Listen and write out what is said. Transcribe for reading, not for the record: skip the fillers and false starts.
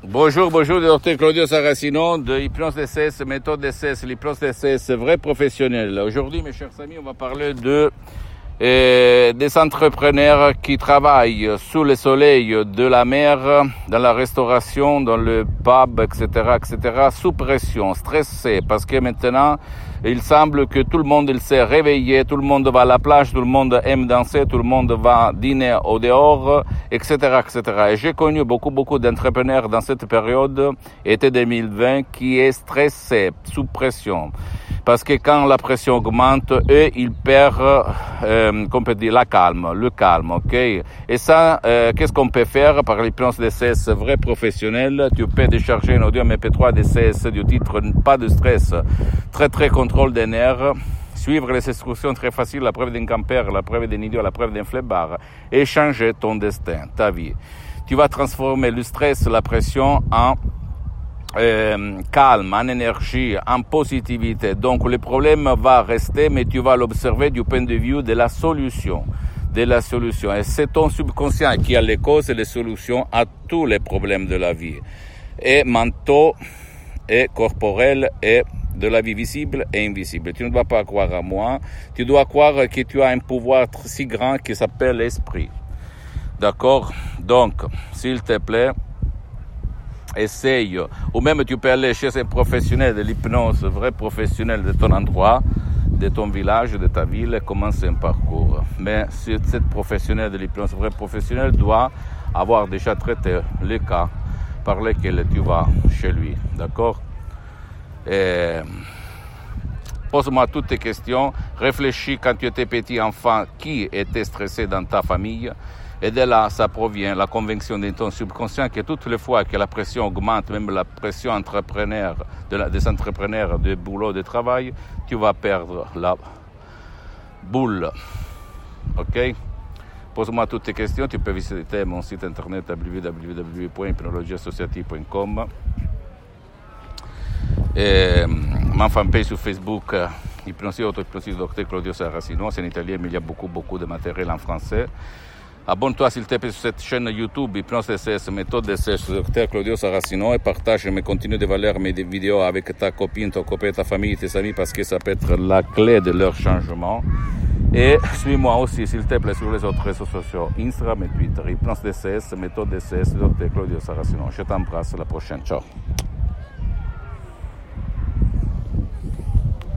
Bonjour, docteur Claudio Saracino de Hypnose DCS, méthode DCS, l'hypnose DCS, vrai professionnel. Aujourd'hui, mes chers amis, on va parler des entrepreneurs qui travaillent sous le soleil de la mer, dans la restauration, dans le pub, etc., sous pression, stressés, parce que maintenant, il semble que tout le monde il s'est réveillé, tout le monde va à la plage, tout le monde aime danser, tout le monde va dîner au dehors, etc. Et j'ai connu beaucoup d'entrepreneurs dans cette période, été 2020, qui est stressé, sous pression. Parce que quand la pression augmente, eux, ils perdent, qu'on peut dire, le calme, ok? Et ça, qu'est-ce qu'on peut faire par l'hypnose DCS vrai professionnel? Tu peux décharger un audio MP3 DCS du titre Pas de stress, très contrôle des nerfs, suivre les instructions très faciles, la preuve d'un camper, la preuve d'un idiot, la preuve d'un flemmard, et changer ton destin, ta vie. Tu vas transformer le stress, la pression en calme, en énergie, en positivité. Donc le problème va rester, mais tu vas l'observer du point de vue de la solution. Et c'est ton subconscient qui a les causes et les solutions à tous les problèmes de la vie. Et mentaux, et corporels, et de la vie visible et invisible. Tu ne dois pas croire à moi. Tu dois croire que tu as un pouvoir si grand qui s'appelle l'esprit. D'accord? Donc, s'il te plaît, essaye, ou même tu peux aller chez un professionnel de l'hypnose, vrai professionnel de ton endroit, de ton village, de ta ville, et commencer un parcours. Mais cette professionnel de l'hypnose, vrai professionnel, doit avoir déjà traité les cas par lesquels tu vas chez lui, d'accord? Et pose-moi toutes tes questions, réfléchis quand tu étais petit enfant, qui était stressé dans ta famille. Et de là, ça provient la conviction de ton subconscient que toutes les fois que la pression augmente, même la pression des entrepreneurs de boulot, de travail, tu vas perdre la boule. Ok? Pose-moi toutes tes questions. Tu peux visiter mon site internet www.hypnologieassociative.com et ma fanpage sur Facebook, Hypnosie Auto-Hypnosie Dr Claudio Saracino. C'est en italien, mais il y a beaucoup de matériel en français. Abonne-toi s'il te plaît sur cette chaîne YouTube Hypnose DCS, méthode DCS, Dr Claudio Saracino, et partage mes contenus de valeur, mes vidéos avec ta copine, ton copain, ta famille, tes amis, parce que ça peut être la clé de leur changement. Et suis-moi aussi s'il te plaît sur les autres réseaux sociaux, Instagram et Twitter, Hypnose DCS, méthode DCS, Dr Claudio Saracino. Je t'embrasse, à la prochaine, ciao.